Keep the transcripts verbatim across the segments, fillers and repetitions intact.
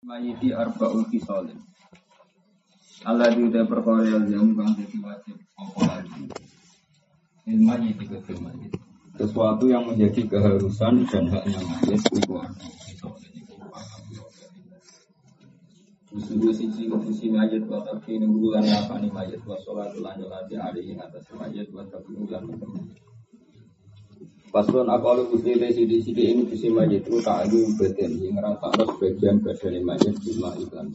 Mayiti arba'ul fisalin. Allah diutai perkara yang kang dadi wajib apa lagi. Il mayiti kudu mayit. Sesuatu yang menjadi keharusan dan haknya mayit itu arba'ul fisalin itu Usul siji usul mayit wa takin bulan apa ni mayit wa sholatul anjolati hari ing atas mayit wa tabulan. Paslon akalu uslite sidi-sidi ini bisi mayit itu tak ada beten yang rata sebagian badan mayit cuma iklan.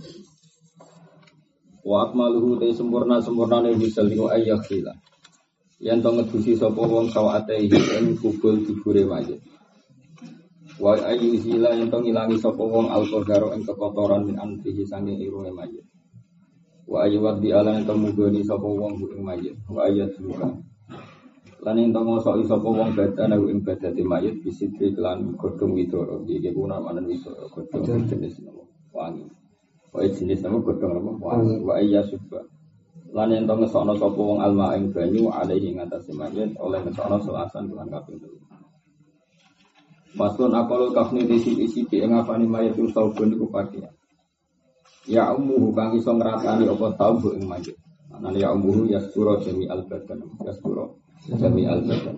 Wa akmaluhu te sempurna-sempurnane bisa liku ayyakhila. Yen to ngedusi sapa wong sawate ing kubul dibure mayit. Wa ayyuzila yen to ngilangi sapa wong alqadaro ing kekotoran min anfihi sange irunge mayit. Wa ayyuwad bi alan to mugoni sapa wong ing mayit. Wa ayyatuka lan ing tong sok sapa wong badane ing badate mayit bisitri lan godhong widoro iki kuna manen widoro godhong jenis nama wangi wae jenis nama godhong nama wangi wa iya subha lan ing tong ngesokno sapa wong alma ing banyu alaihi ing atase mayit oleh ngesokno selasan lan kaping telu pasun akal kafni disi-disi ing ngapani mayit usahun iku pakya ya ummu kang iso ngratani apa tau ing mayit ana ya ummu yastura jami al badan yastura jami al-badan.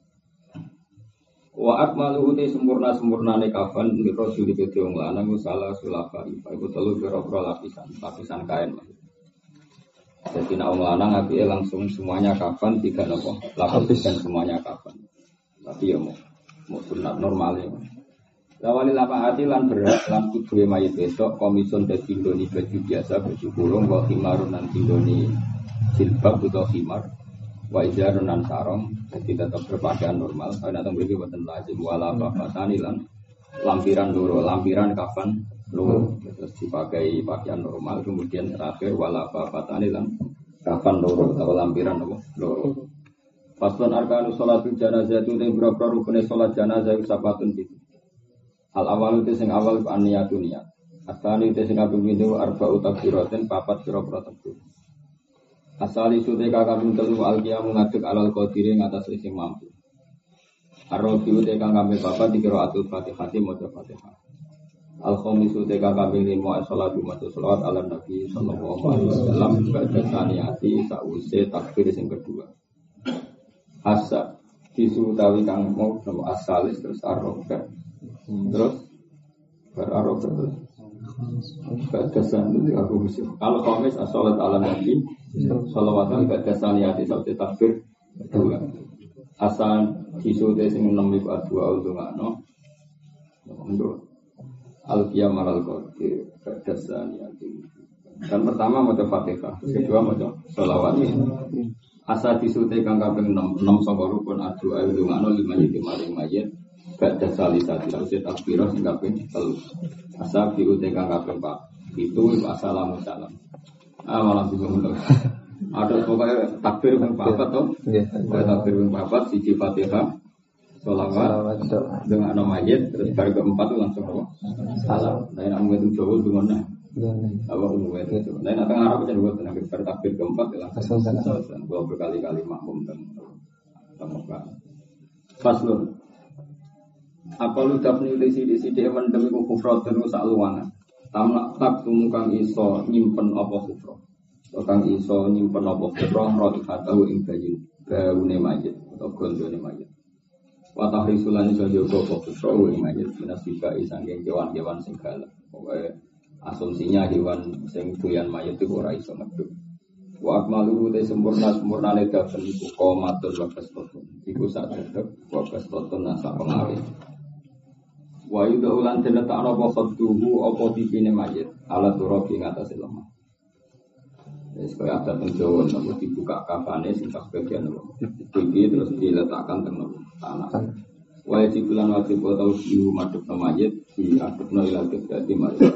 Wa akmaluhu te sempurna-sempurnane kafan li rasul iki wong lanang salah sulafa iku telu pira-pira lapisan, lapisan kain. Jadi nek wong lanang apike langsung semuanya kafan tiga napa? Lapisan semuanya kafan. Tapi ya mau mau sunat normal ya. Lawali lapa ati lan berat lan kudu mayit besok komison dadi ndoni baju biasa baju kurung wa khimarun lan ndoni jilbab utawa khimar. Wa ijarun nan sarong jadi tetap berpakaian normal karena teng mriki boten lazim wala bafatani lan lampiran loro lampiran kafan loro terus dipakai pakaian normal kemudian terakhir wala bafatani lan kafan loro atau lampiran loro paslon arkanus sholatul janazah itu te berapa rukune salat janazah sapatun iki al awal itu sing awal aniyatun niat asali itu sing kaping pindho arba'u takbiratin papat pira-pira takbir asali sute kakak telu alqiyamu ngadeg alal qadiri ngatas sing mampu. Ar-rabiu te kang kami bapak dikira atul Fatihah maca Fatihah. Al-khamisu te kakak lima salatu maca selawat ala Nabi sallallahu alaihi wasallam ba'da saniyati sause takbir sing kedua. Asa disutawi kang mau nama asalis terus ar-rabi. Terus ber-ar-rabi terus ba'dasan itu aku mesti kalau khamis as-salat ala Nabi salawatan ba'dasan ya disebut takbir kedua asal disute sing enam iku dua undungano untuk al-qiyam al-qadir ba'dasan ya dan pertama maca Fatihah kedua maca selawat asal disute kang kaping enam enam saka rukun adua undungano lima yiti maring mayit ba'da salisati terus takbir sing kaping telu asal diute kang kaping pak itu assalamu salam ah malam bingung lho ada pokoknya takbir kang papat to nggih takbir kang papat siji Fatihah sholawat dengan nama mayit terus bar keempat itu langsung apa salam nek nek mung Jawa dungono apa umum itu nek nek Arab kan buat nek bar takbir keempat langsung salam gua berkali-kali makmum dan temukan faslun apa lu dapni disi-disi dia mendemi kufrat dan rusak luangan tamak tak tumukang iso nyimpen apa kufrat kang iso nyimpen apa kufrat roti katahu ing bayin gaune mayit atau gondone mayit wa tahrisulan iso jogo apa kufrat ing mayit minasika isangge kewan-kewan sing galak pokoke asumsinya hewan sing doyan mayit itu ora iso medhuk wa akmalu te sempurna-sempurnane dafen iku qomatul wa kasratun iku sak dedeg wa kasratun nasa pengawe wa yudu lan tenetakno apa khadduhu apa pipine mayit ala turabi ngatasé lemah. Wis kaya ada teng Jawa napa dibuka kafane sing sak bagian lho. Iki terus diletakkan teng tanah. Wajib lan wajib tau diu madhepno mayit diadepno ila dadi mayit.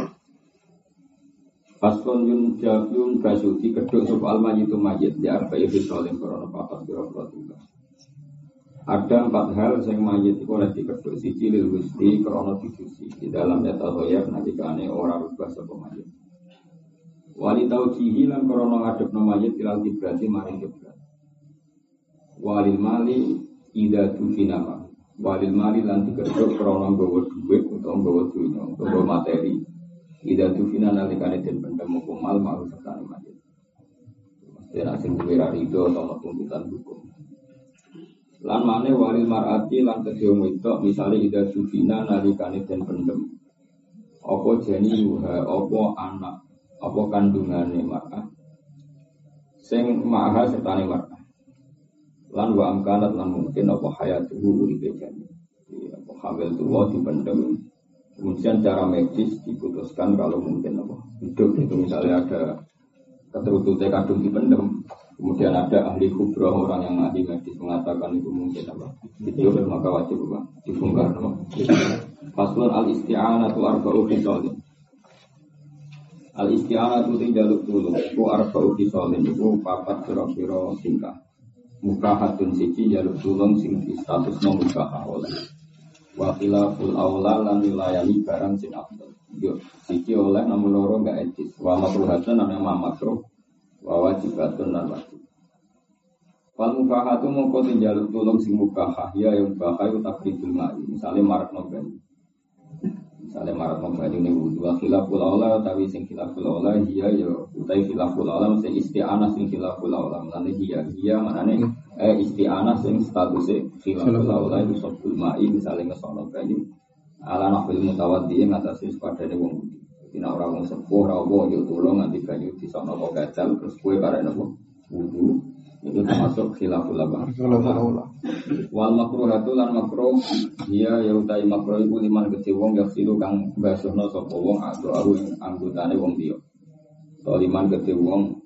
Paskon yun jabun basuti keduk sapa almayitu mayit di arba'i bisalim korona papat biro-biro tiga. Ada empat hal yang mayit itu oleh dikeduk siji lil gusti krono dicuci di dalam data hoyak nanti kane ora rubah sapa mayit. Wali taujihi lan krono ngadepno mayit ilal kiblati maring kiblat. Walil mali ida tufinama. Walil mali lan dikeduk krono nggawa dhuwit utawa nggawa dunya utawa materi. Ida dufina nalikane den pendem mal mau serta mayit. Mesti nek sing duwe rido atau tuntutan hukum. Lan mane walil mar'ati lan kedhe wedok misale ida dufina nalikane den pendem. Apa jeni yuha apa anak apa kandungane mar'ah. Sing maha sertane mar'ah. Lan wa amkanat lan mungkin apa hayatuhu uripe jani. Apa hamil tuwa dipendem. Kemudian cara medis diputuskan kalau mungkin apa hidup itu misalnya ada keterututnya kandung dipendem. Kemudian ada ahli kubra orang yang ahli medis mengatakan itu mungkin apa hidup maka wajib apa dibongkar apa. Faslun al isti'anatu arba'u khisalin. Al isti'anatu tinggaluk tulung. Ku arba'u khisalin itu papat kira-kira tingkah. Mukahatun siji jaluk tulung sing di statusnya mukahah oleh. Wakila ful aula lan wilayani barang sing afdal. Yo siji oleh namun loro enggak etis. Wa makruhatun nang makruh. Wa wajibatun lan wajib. Wal mubahatu mongko tinjaluk tulung sing mubahah ya yang mubahah itu takribul ma'i. Misale marakno banyu. Misale marakno banyu ning wudu wa khilaful aula utawi sing khilaful aula iya ya utawi khilaful aula sing isti'anah sing khilaful aula. Lan iya iya manane eh isti'anah sing statuse khilaful aula itu sabul ma'i misale ngesono banyu. Ala nafil mutawaddi ngatasi padane wong wudu. Dina ora wong sepuh ora apa yo tulung nganti banyu disono kok gajal terus kowe karek nopo wudu itu termasuk khilaful aula. Wal makruhatu lan makruh dia ya utahe makruh iku liman gede wong ya silu kang basuhna sapa wong atau aku anggotane wong liya. To liman gede wong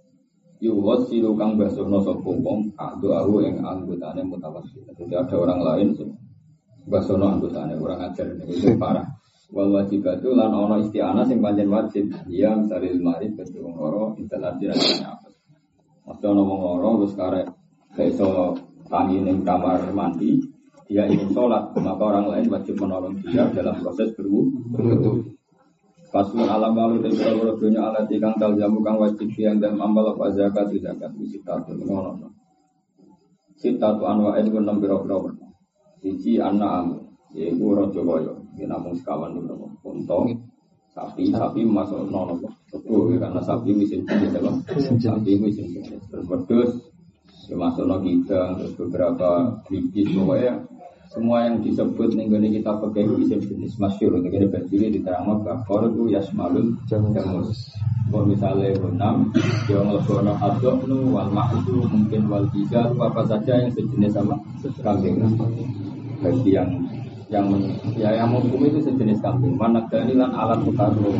yu wasilu kang basuhna sapa wong atau aku ing anggotane mutawassil. Jadi ada orang lain sing basuhna anggotane orang ajar itu parah. Wal wajibatu lan ana isti'anah sing pancen wajib ya saril marid gede wong loro intelati rasane apa. Waktu ana wong loro wis karek gak iso tangi ning kamar mandi, dia ingin sholat, maka orang lain wajib menolong dia dalam proses berwudu. Pasul alam lalu dan berwudu dunia alat ikang taljamu kang wajib yang dalam amal apa zakat zakat sitatu ngono. Sitatu anwa'in ku enam pira-pira. Siji an'am, yaiku raja kaya, yen namung sekawan niku unta, sapi, sapi masuk nono betul karena sapi mesin jenis apa? Sapi mesin jenis terus ya masuk no kita terus beberapa bibit pokoknya semua yang disebut nih gini kita pakai mesin jenis masyhur untuk kita berdiri di terang bakor itu yasmalun jamus. Kalau misalnya enam yang lebih adok nu wal mahdu mungkin wal tiga apa saja yang sejenis sama kambing. Bagi yang yang ya yang hukum itu sejenis kambing. Manak danilan alat bukalu.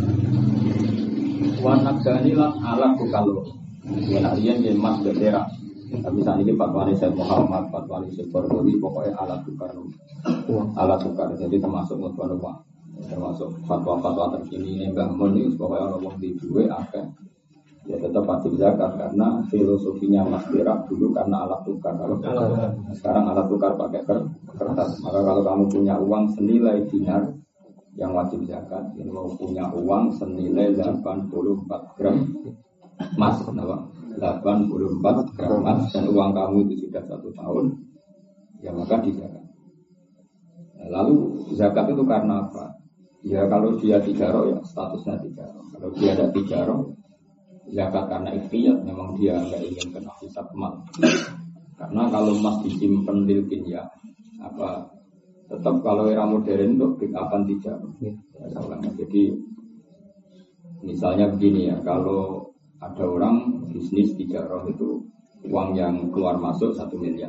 Manak danilan alat bukalu. Yang arian yang mas berdera. Tapi saat ini fatwa Syekh Muhammad, fatwa Syekh Barbawi pokoknya alat bukalu. Alat bukar. Jadi termasuk mutwa termasuk fatwa-fatwa terkini ini Mbah Mun ini pokoknya orang di dua akan ya tetap wajib zakat karena filosofinya Mas Berak dulu karena alat tukar. Kalau sekarang alat tukar pakai kertas, maka kalau kamu punya uang senilai dinar yang wajib zakat, ini mau punya uang senilai delapan puluh empat gram emas, delapan puluh empat gram emas dan uang kamu itu sudah satu tahun, ya maka dizakat. Lalu zakat itu karena apa? Ya kalau dia tijaroh ya statusnya tijaroh. Kalau dia ada tijaroh zakat karena ikhtiyat, memang dia nggak ingin kena hisab mal. Karena kalau emas disimpan dilkin ya apa tetap kalau era modern itu bikapan tijaroh. Ya, jadi misalnya begini ya, kalau ada orang bisnis tijaroh itu uang yang keluar masuk satu miliar.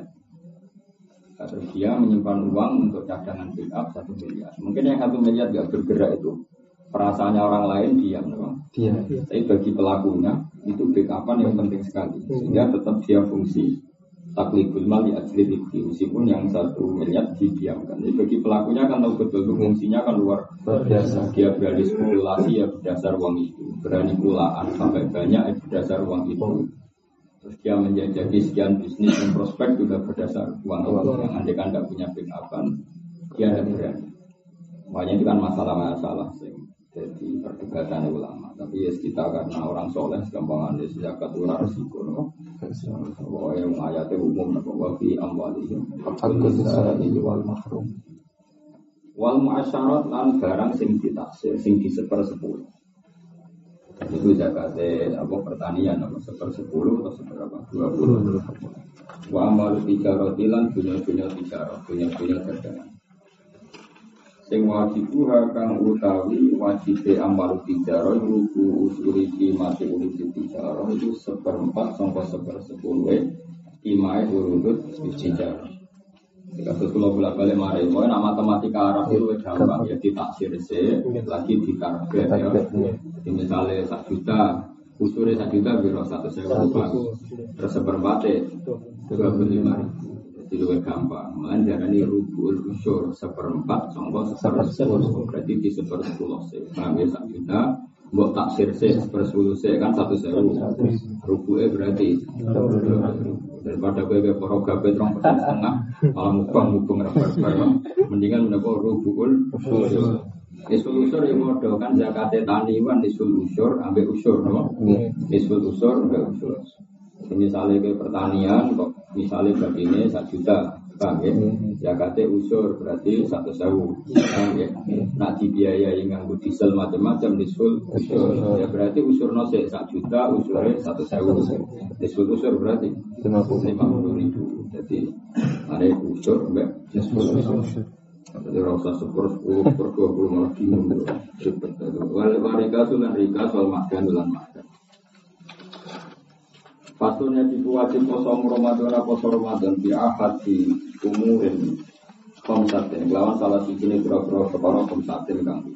Terus dia menyimpan uang untuk cadangan backup satu miliar. Mungkin yang satu miliar tidak bergerak itu perasaannya orang lain diam, diam. Tapi bagi pelakunya itu backupan yang penting sekali. Sehingga tetap dia fungsi takliful mal ya ajli meskipun yang satu miliar didiamkan. Jadi bagi pelakunya kan tahu betul fungsinya kan luar biasa. Dia berani spekulasi ya berdasar uang itu, berani pulaan sampai banyak ya berdasar uang itu. Terus dia menjajaki sekian bisnis dan prospek juga berdasar uang itu. Yang andai kan tidak punya backupan, dia tidak berani. Makanya itu kan masalah-masalah sih. Jadi perdebatan ulama. Tapi ya kita karena orang soleh segampangan di zakat ular risiko. Bahwa yang ayatnya umum bahwa fi amwalihim hakul lisani wal mahrum. Wal muasyarat lan barang sing ditaksir, sing diseper sepuluh. Itu zakatnya apa pertanian apa sepersepuluh atau seberapa dua puluh. Wa amal tijarotilan dunia-dunia tijarot, dunia-dunia dagangan. Sing wajibu kang utawi wajibe amal tijarot ruku usuri mati urip tijarot itu seperempat sampai sepersepuluh imae urut tijarot. Kasus kalau bolak-balik mari, mau nama matematika Arab itu gampang ya ditaksir se, lagi ditarget ya. Jadi misalnya satu juta, usurnya satu juta biro satu sewa terus seperempatnya dua puluh lima ribu. Jadi lebih gampang. Malah darah ini rubul usur seperempat, contoh sepersepuluh, berarti di sepersepuluh se. Kami satu juta, buat taksir se sepersepuluh se kan satu sewa, rubulnya berarti. Daripada gue ke poro gabe terong persen setengah malah mukbang mukbang rabar-rabar mendingan mendapat rubul usur. Isul usur yang modal kan zakatnya taniwan isul usur ambil usur, no? Isul usur ambil usur. Misalnya ke pertanian kok misalnya begini satu juta, bang ya? Zakatnya usur berarti satu sewu, bang ya? Nak dibiayai nganggo diesel macam-macam isul usur, ya berarti usur nose satu juta usurnya satu sewu. Isul usur berarti lima puluh ribu. Jadi ada usur, mbak. Isul usur. Jadi rasa sepuluh sepuluh per dua puluh malah bingung. Wal warika sulan rika soal makan bulan makan. Pasalnya diwajib poso Ramadan poso Ramadan di ahad di umurin komsaten. Lawan salah siji ini biro-biro separo komsaten kang.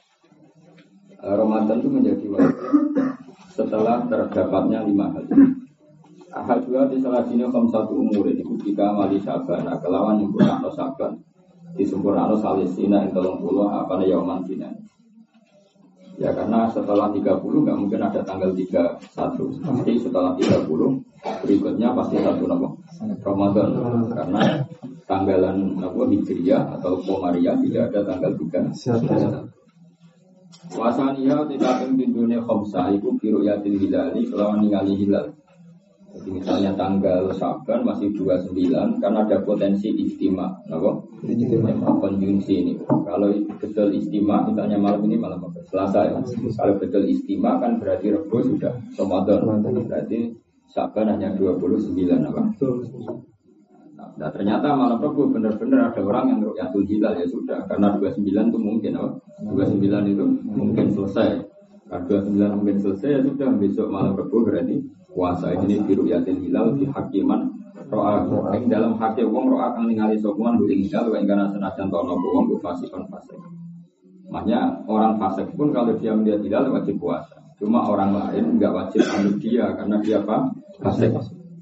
Ramadan itu menjadi wajib setelah terdapatnya lima hal. Ahad dua di salah sini komsatu umurin itu jika mali saban. Kelawan yang kurang saban disempurnakan salisina yang tolong puluh apa nih yaman sinan. Ya karena setelah tiga puluh nggak mungkin ada tanggal tiga puluh satu. Pasti setelah tiga puluh berikutnya pasti satu nama Ramadan. Karena tanggalan apa Hijriyah atau Komariah tidak ada tanggal tiga puluh satu. Wasania tidak penting dunia khamsah itu biru yatin hilali selawan ningali hilal. Jadi misalnya tanggal Syaban masih dua puluh sembilan kan ada potensi istimewa, apa? Konjungsi ini. Kalau betul istimewa, misalnya malam ini malam apa? Selasa ya. Kalau betul istimewa kan berarti Rabu sudah Ramadan. Berarti Syaban hanya dua puluh sembilan apa? Nah ternyata malam Rabu benar-benar ada orang yang ru'yatul hilal ya sudah. Karena dua puluh sembilan itu mungkin apa? dua puluh sembilan itu mungkin selesai. Kalau dua puluh sembilan mungkin selesai ya sudah besok malam Rabu berarti puasa ini biru yatin hilal di hakiman roa yang dalam hakim wong roa kang ningali sokuan buling hilal yang karena senajan tono wong bu fasikon fasik. Makanya orang fasik pun kalau dia melihat hilal wajib puasa. Cuma orang lain enggak wajib anut dia karena dia apa? Fasik.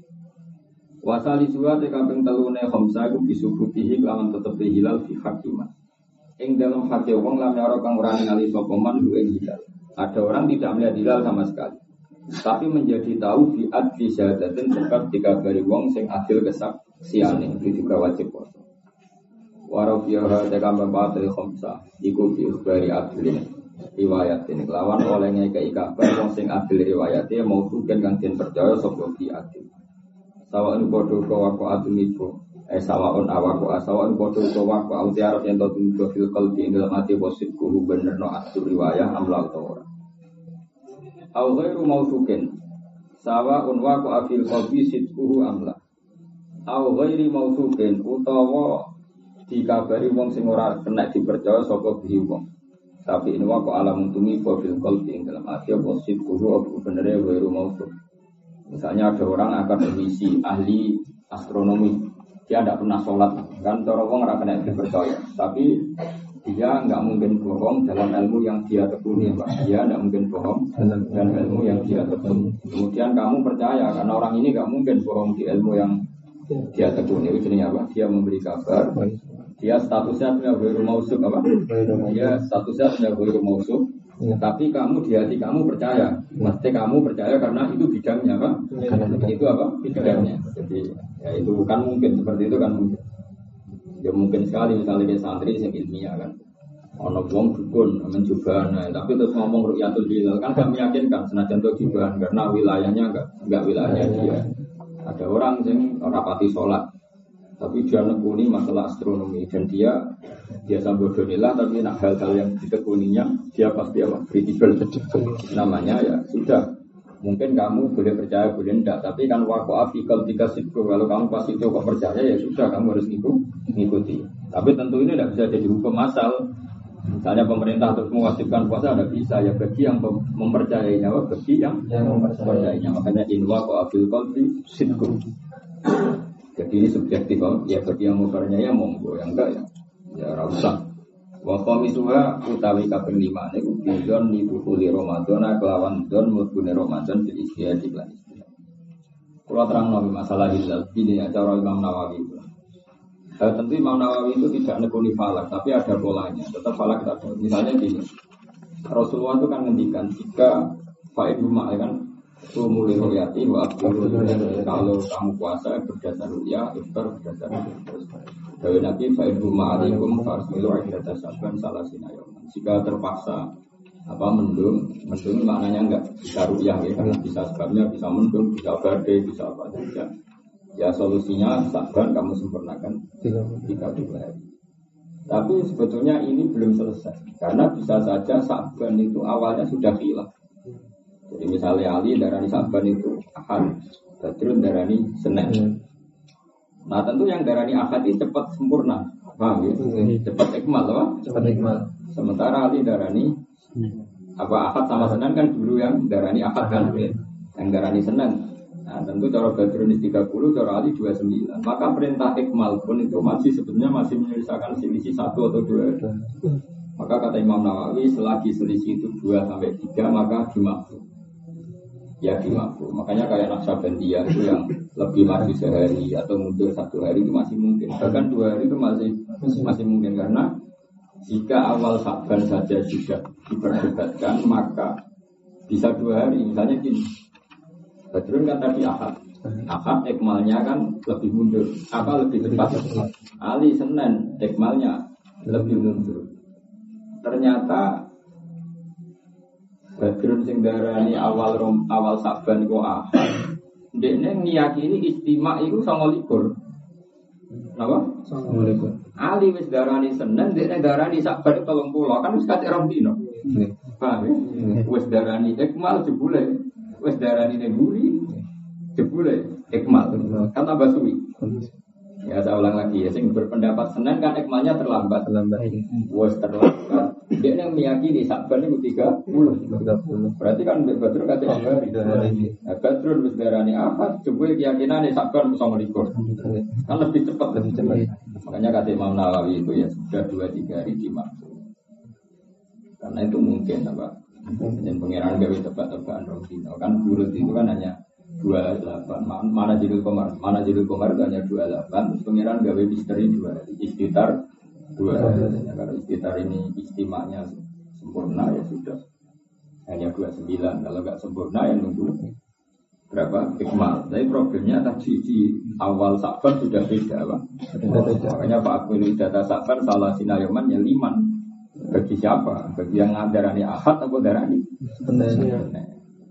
Wasali suwa te kaping telune khamsa iku bisubutihi lawan tetep hilal di hakiman. Ing dalam hakim wong lan ora kang ora ningali sokuman bu hilal. Ada orang tidak melihat hilal sama sekali. Tapi menjadi tahu di adli syahadatin sebab dikabari wong sing adil kesaksiane itu juga wajib puasa. Warafiyah tekam batil khamsa iku bi ikhbari adlin riwayat ini lawan olehnya kei kabar wong sing adil riwayate mau tuken kang den percaya sapa bi adil. Sawaun padha kawako adil itu eh sawaun awako asawaun padha kawako autiarot yen to tunggu fil qalbi ing dalam ati posit kuhu bener no adil riwayah amla ora. Au ghairu mausukin sawa unwa ku afil qalbi sidquhu amla au ghairi mausukin utawa dikabari wong sing ora kena dipercaya saka bihi wong tapi ini wa ku alam tumi fil qalbi ing dalam ati apa sidquhu apa benere ghairu mausuk. Misalnya ada orang akademisi ahli astronomi dia tidak pernah sholat kan cara wong ora kena dipercaya tapi dia enggak mungkin bohong dalam ilmu yang dia tekuni, Pak. Dia enggak mungkin bohong dalam ilmu yang dia tekuni. Kemudian kamu percaya karena orang ini enggak mungkin bohong di ilmu yang dia tekuni. Itu jenisnya apa? Dia memberi kabar. Dia statusnya punya ghairu mausuk apa? Dia statusnya punya ghairu mausuk. Tapi kamu di hati kamu percaya. Mesti kamu percaya karena itu bidangnya, Pak. Itu apa? Bidangnya. Jadi ya itu bukan mungkin seperti itu kan mungkin. Ya mungkin sekali misalnya dia santri yang ilmiah kan ono wong dukun menjubana tapi terus ngomong ru'yatul hilal kan gak meyakinkan senajan itu jubahan karena wilayahnya enggak enggak wilayahnya dia. Ada orang yang rapati sholat tapi dia nekuni masalah astronomi dan dia biasa bodohilah tapi nak hal-hal yang ditekuninya dia pasti apa kredibel. Namanya ya sudah. Mungkin kamu boleh percaya boleh enggak, tapi kan waktu afikal tiga sikur kalau kamu pasti itu kok percaya ya sudah kamu harus ngikuti. Tapi tentu ini tidak bisa jadi hukum asal. Misalnya pemerintah terus mewajibkan puasa tidak bisa ya bagi yang mempercayainya, bagi yang mempercayainya. Makanya inwa kok afil qalbi sikur. Jadi ini subjektif ya bagi yang mempercayainya monggo, yang enggak ya ya rasa. Wa qamisuha utawi kaping lima niku bidon niku kuli Ramadan kelawan don mlebune Ramadan bil istihad lan istihad. Kula terangno masalah hilal ini acara Imam Nawawi. Eh, tentu Imam Nawawi itu tidak nekuni falak, tapi ada polanya. Tetap falak kita ada. Misalnya gini, Rasulullah itu kan ngendikan jika faid rumah kan sumuli royati wa abdul kalau kamu puasa berdasar ruya, iftar berdasar ruya. Dari Nabi faid rumah alaikum farsmilu akhirata sabban salah sinayoman. Jika terpaksa apa mendung, mendung maknanya enggak bisa ruya ya, karena bisa sebabnya bisa mendung, bisa badai, bisa apa saja. Ya solusinya sabban kamu sempurnakan tiga puluh hari. Tapi sebetulnya ini belum selesai karena bisa saja sabban itu awalnya sudah hilang. Jadi misalnya Ali darani sabban itu ahad, Badrun darani Senin. Nah tentu yang darani ahad ini cepat sempurna, paham ya? Cepat ikmal, apa? Cepat ikmal. Sementara Ali darani apa ahad sama Senin kan dulu yang darani ahad kan, yang darani Senin. Nah tentu cara Badrun tiga puluh, cara Ali dua puluh sembilan. Maka perintah ikmal pun itu masih sebetulnya masih menyelesaikan selisih satu atau dua. Maka kata Imam Nawawi selagi selisih itu dua sampai tiga maka dimaksud. Ya dimaksud. Makanya kayak Naqsabandiyah itu yang lebih maju sehari atau mundur satu hari itu masih mungkin. Bahkan dua hari itu masih masih mungkin karena jika awal Sa'ban saja sudah diperdebatkan maka bisa dua hari. Misalnya gini. Badrun kan tadi ahad, ahad ikmalnya kan lebih mundur, apa lebih cepat? Ali Senin ikmalnya lebih mundur. Ternyata Badrun sing darani awal rom, awal Sa'ban kok ahad, dekne ngiyakini istimak itu sama likur, apa? Sama likur. Ali wis darani Senin, dekne darani Sa'ban tolong pulau kan wis kate rong dino. Paham ya? Wis darani ikmal jebule. Wes darani neguri, jebule ikmal, kan tambah suwi. Ya saya ulang lagi ya, sing berpendapat Senin kan ikmalnya terlambat, terlambat. Wes terlambat. Dia yang meyakini Sa'ban itu tiga puluh. Berarti kan Badrun kata hari. Nah, Badrun wes darani ahad, jebule keyakinan Sa'ban sama likur. Kan lebih cepat, lebih cepat. Makanya kata Imam Nawawi itu ya sudah dua tiga hari dimaksud. Karena itu mungkin apa? Dan pengiran gawe tebak-tebakan Rosino kan bulat itu kan hanya dua puluh delapan mana jilul komar mana jilul komar itu hanya dua puluh delapan terus pengiran gawe misteri dua istitar dua ya, kalau istitar ini istimanya sempurna ya sudah hanya dua puluh sembilan kalau nggak sempurna ya nunggu berapa ikmal. Tapi problemnya tadi di awal Sa'ban sudah beda Pak. Makanya Pak Akbil data Sa'ban salah sinayoman ya liman. Bagi siapa? Bagi yang darani ahad atau darani sebenarnya. Nah,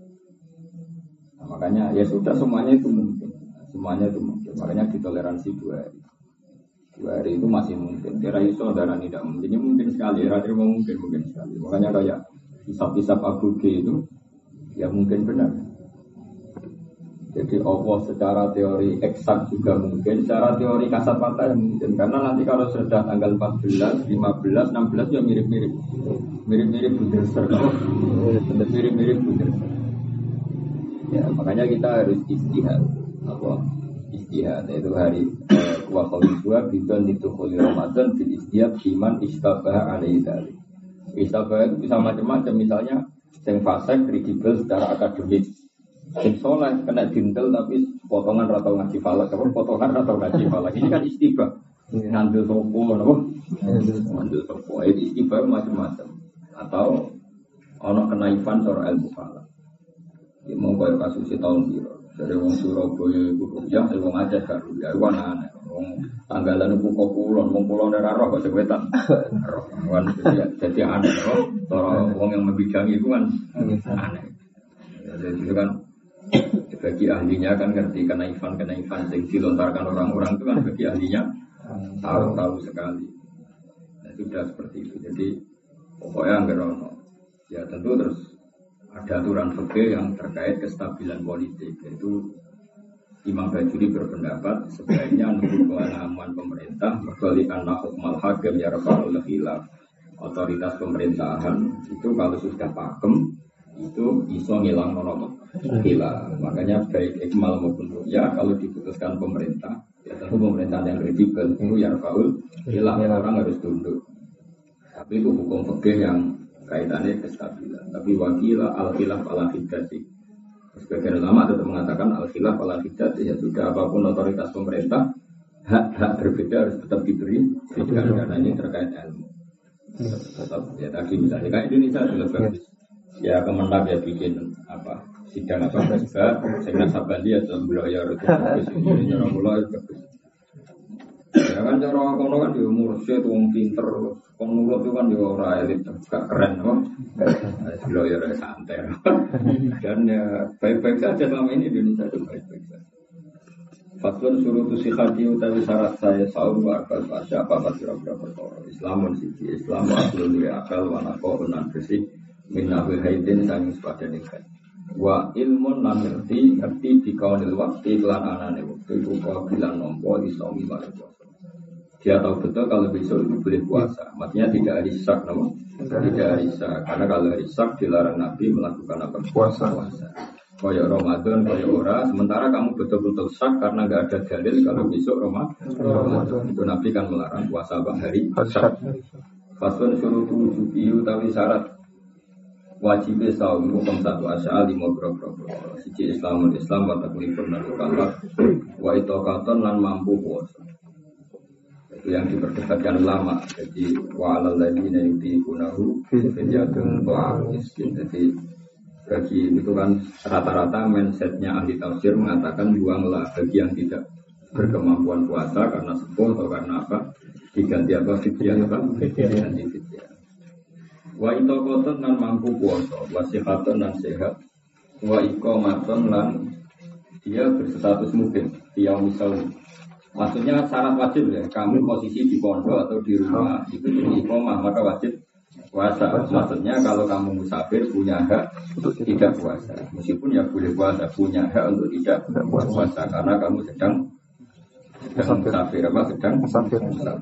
makanya ya sudah semuanya itu mungkin, semuanya itu mungkin. Makanya ditoleransi dua hari. Dua hari itu masih mungkin. Kira iso darani tidak mungkin, ya mungkin sekali. Kira terima mungkin mungkin sekali. Makanya kayak hisab-hisab Abu G itu ya mungkin benar. Jadi Allah secara teori eksak juga mungkin, secara teori kasat mata ya mungkin. Karena nanti kalau sudah tanggal empat belas, lima belas, enam belas ya mirip-mirip. Mirip-mirip Buderser. Mirip-mirip Buderser. Ya, makanya kita harus istihad. Apa? Istihad yaitu hari wa khamsua bidon itu khuli Ramadan bil istihad iman istabah alaihi dzalik. Istabah itu bisa macam-macam, misalnya yang fasik kredibel secara akademik. Sing soleh kena dintel tapi potongan atau ngaji falak, apa potongan atau ngaji falak. Ini kan istibah. Ngambil sopo, apa? Ngambil sopo. Ini istibah macam-macam. Atau ono kenaifan seorang ilmu falak. Ya mau kaya kasus tahun biru. Dari wong Surabaya iku ya, wong Aceh gak ya, wong aneh. Wong tanggalan iku kok kulon, wong kulon ora roh kok sewetan. Roh. Wan jadi aneh kok. Cara wong yang membidangi itu kan aneh. Jadi itu kan bagi ahlinya kan ngerti kenaifan kenaifan yang dilontarkan orang-orang itu kan bagi ahlinya tahu-tahu sekali. Nah, sudah seperti itu. Jadi pokoknya enggak ono. Ya tentu terus ada aturan fikih yang terkait kestabilan politik, yaitu Imam Bajuri berpendapat sebaiknya menurut pengalaman pemerintah berkalikan hukmal hakim ya rafa'ul khilaf. Otoritas pemerintahan itu kalau sudah pakem itu iso ngilang nono khilaf. Makanya baik ikmal maupun ya kalau diputuskan pemerintah ya tentu pemerintahan yang kredibel itu ya rafa'ul khilaf, orang harus tunduk. Tapi itu hukum fikih yang kaitannya kestabilan. Tapi wakila al khilaf ala hiddati. Sebagian ulama tetap mengatakan al-khilaf ala hiddat, ya sudah apapun otoritas pemerintah hak-hak berbeda harus tetap diberi karena ini terkait ilmu. Tetap ya tadi misalnya kayak Indonesia sudah bagus. Ya Kemenang ya bikin apa sidang apa presiden, saya Sabandi atau Buloyo itu bagus ini orang Buloyo bagus. Ya kan cara kono kan dia mursyid wong pinter, kon nurut itu kan dia ora elit, gak keren kok. Buloyo ya santai. Dan ya baik-baik saja selama ini Indonesia itu baik-baik saja. Fathun surutu sikhati utawi syarat saya sahur wa akal fasya apa pira-pira perkara. Islamun siji Islam aslun wa akal wa naqo nan bersih min nabil haidin sang sepadane kan. Wa ilmun lan ngerti ngerti dikaunil waqti lan anane wektu iku kok bilang nampa iso miwari puasa. Dia tahu betul kalau besok itu boleh puasa. Maksudnya tidak hari syak, namun tidak hari syak. Karena kalau hari syak dilarang Nabi melakukan apa? Puasa. puasa. Koyok Ramadan, koyok ora. Sementara kamu betul-betul syak karena nggak ada dalil kalau besok Ramadan. Itu Nabi kan melarang puasa bang hari syak. Fasun suruh tujuh piu tapi syarat wajib saum hukum satu asal lima berapa siji Islamul Islam watak lipur narukallah wa itokaton lan mampu puasa. Yang diperdebatkan ulama, jadi wa'alal ladina yutiqunahu fidyatun ta'am miskin. Jadi bagi itu kan rata-rata mindsetnya ahli tafsir mengatakan buanglah bagi yang tidak berkemampuan puasa karena sepuh atau karena apa diganti apa fidyah apa diganti fidyah. Wa itokoton lan mampu puasa, wa sihatun lan sehat, wa iqamaton lan dia berstatus mungkin dia misalnya. Maksudnya syarat wajib ya, kamu posisi di pondok atau di rumah itu di iqamah maka wajib puasa. Maksudnya kalau kamu musafir punya hak untuk tidak puasa, meskipun ya boleh puasa, punya hak untuk tidak puasa karena kamu sedang sedang musafir apa sedang musafir.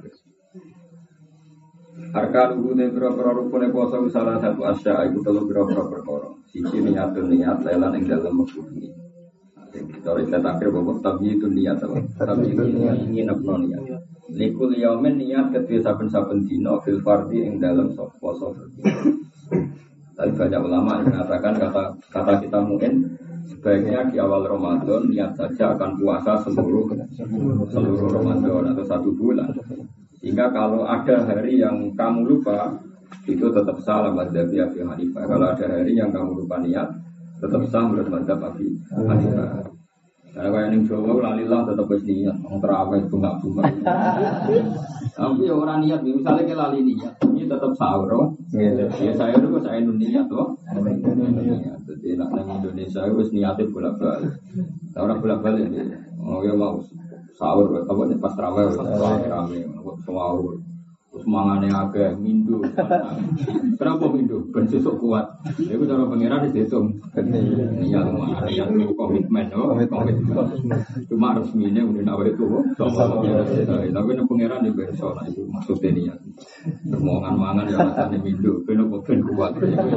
Arkan rukune pira-pira rukune puasa salah satu asya iku telu pira-pira perkara. Siji niatun niat lelan ing dalem wektu ini. Kita lihat akhir bahwa tapi itu niat apa? Tapi itu niat ingin apa niat? Likul yaumen niat ketika saben-saben dino fil fardi ing dalam poso. Tapi banyak ulama yang mengatakan kata kata kita mungkin sebaiknya di awal Ramadan niat saja akan puasa seluruh seluruh Ramadan atau satu bulan. Sehingga kalau ada hari yang kamu lupa itu tetap salah madzhab Abi Hanifah. Kalau ada hari yang kamu lupa niat tetap sah menurut madzhab Abi Hanifah. Karena kalau yang Jawa lalilah tetap harus niat, orang terawih bunga-bunga. Tapi orang niat, misalnya kita lali niat, ini tetap sahur. Ya saya itu saya niat loh. Jadi nak nang Indonesia itu niatnya bolak-balik. Orang bolak-balik ya. Oh ya mau sahur, apa nih pas terawih rame-rame, sahur. Terus mangane agak mindu. Kenapa mindu? Ben sesuk kuat. Iku cara pangeran dihitung. Iya lumayan ya komitmen oh, komitmen. Cuma resmine udah nawa itu. Tapi nek pangeran di berso nah itu maksudnya niat. Permohonan mangan ya rasane mindu, ben kok ben kuat.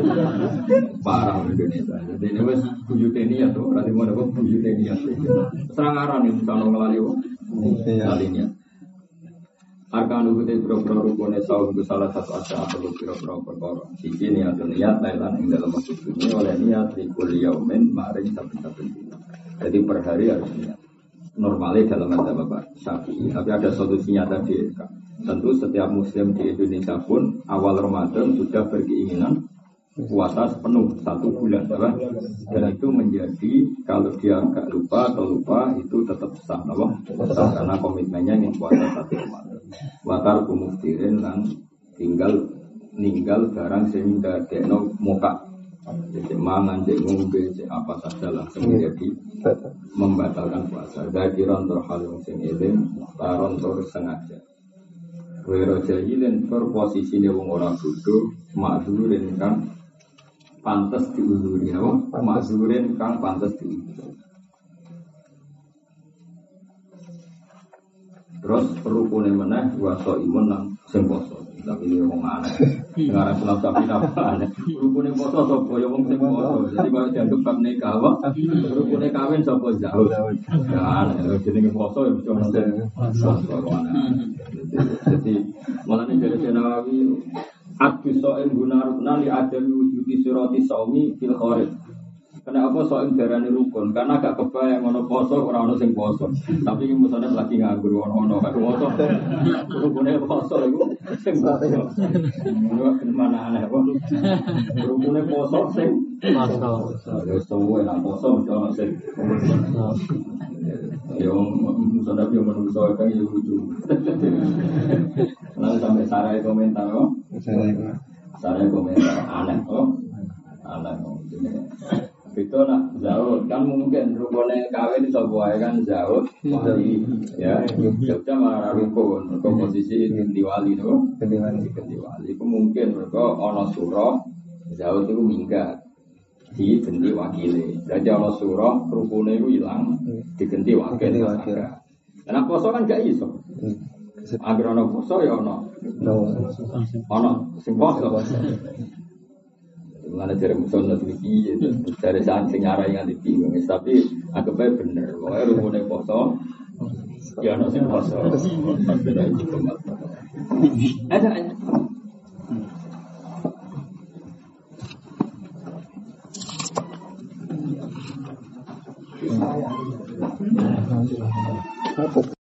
Parah Indonesia. Jadi ini wis buyute niat to, ora dimono kok buyute niat. Serang aran iki sono nglali kok. Nglali niat. Arkan ukute boro-boro rukune saum ku salah satu asal atau boro-boro perkara. Siji niat niat lan ing dalam waktu ini oleh niat di kuliyaumen maring saben-saben dina. Jadi per hari harus niat. Normalnya dalam madzhab Bapak Syafi'i, tapi ada solusinya tadi. Tentu setiap muslim di Indonesia pun awal Ramadan sudah berkeinginan puasa sepenuh satu bulan, apa? Dan itu menjadi kalau dia agak lupa atau lupa itu tetap sah, apa? Sah karena komitmennya yang puasa satu Ramadan. Watar kumuftirin dan tinggal ninggal barang sehingga deno muka Jadi mangan, cek ngombe, cek apa saja langsung menjadi membatalkan puasa. Dari rontor hal yang sing eling, rontor sengaja. Wero jahilin per posisinya wong ora bodoh, makzurin kang pantes diuluri, apa? Makzurin kang pantes diuluri. Terus rukune meneh waso imun nang sing poso. Tapi ini wong aneh. Sekarang sulam sapi apa aneh. Rukune poso sapa ya wong sing poso. Jadi kalau dianggap bab nikah apa? Rukune kawin sapa jauh. Ya aneh. Jenenge poso ya mesti ono sing poso. Jadi mulane dari Nawawi adu so'in gunarukna li adami wujudi surati saumi fil kharij. Kenapa so'in darani rukun? Karena gak kebayang ono poso ora ono sing poso. Tapi iki musane lagi nganggur ono-ono karo poso. Rukune poso iku sing poso. Ono mana aneh kok. Rukune poso sing poso. Ya suwe nang poso ono sing poso. Yo musane yo menungso kan yo lucu. Lalu sampai sarai komentar kok. Sarai komentar aneh kok. Aneh kok. Itu nak jauh kan mungkin rukunnya kawin iso wae kan jauh wali ya Jogja malah rukun komposisi ganti wali tuh ganti wali ganti wali itu mungkin mereka ono surah jauh itu minggat di ganti wakile jadi ono surah rukunnya itu hilang diganti wakil karena poso kan gak iso agar ono poso ya ono ono sing poso mana dari musuh nanti dari saat senyara yang ada bingung, tapi aku baik bener. Pokoknya rumunnya poso, ya nasi poso. Ada ada. Apa?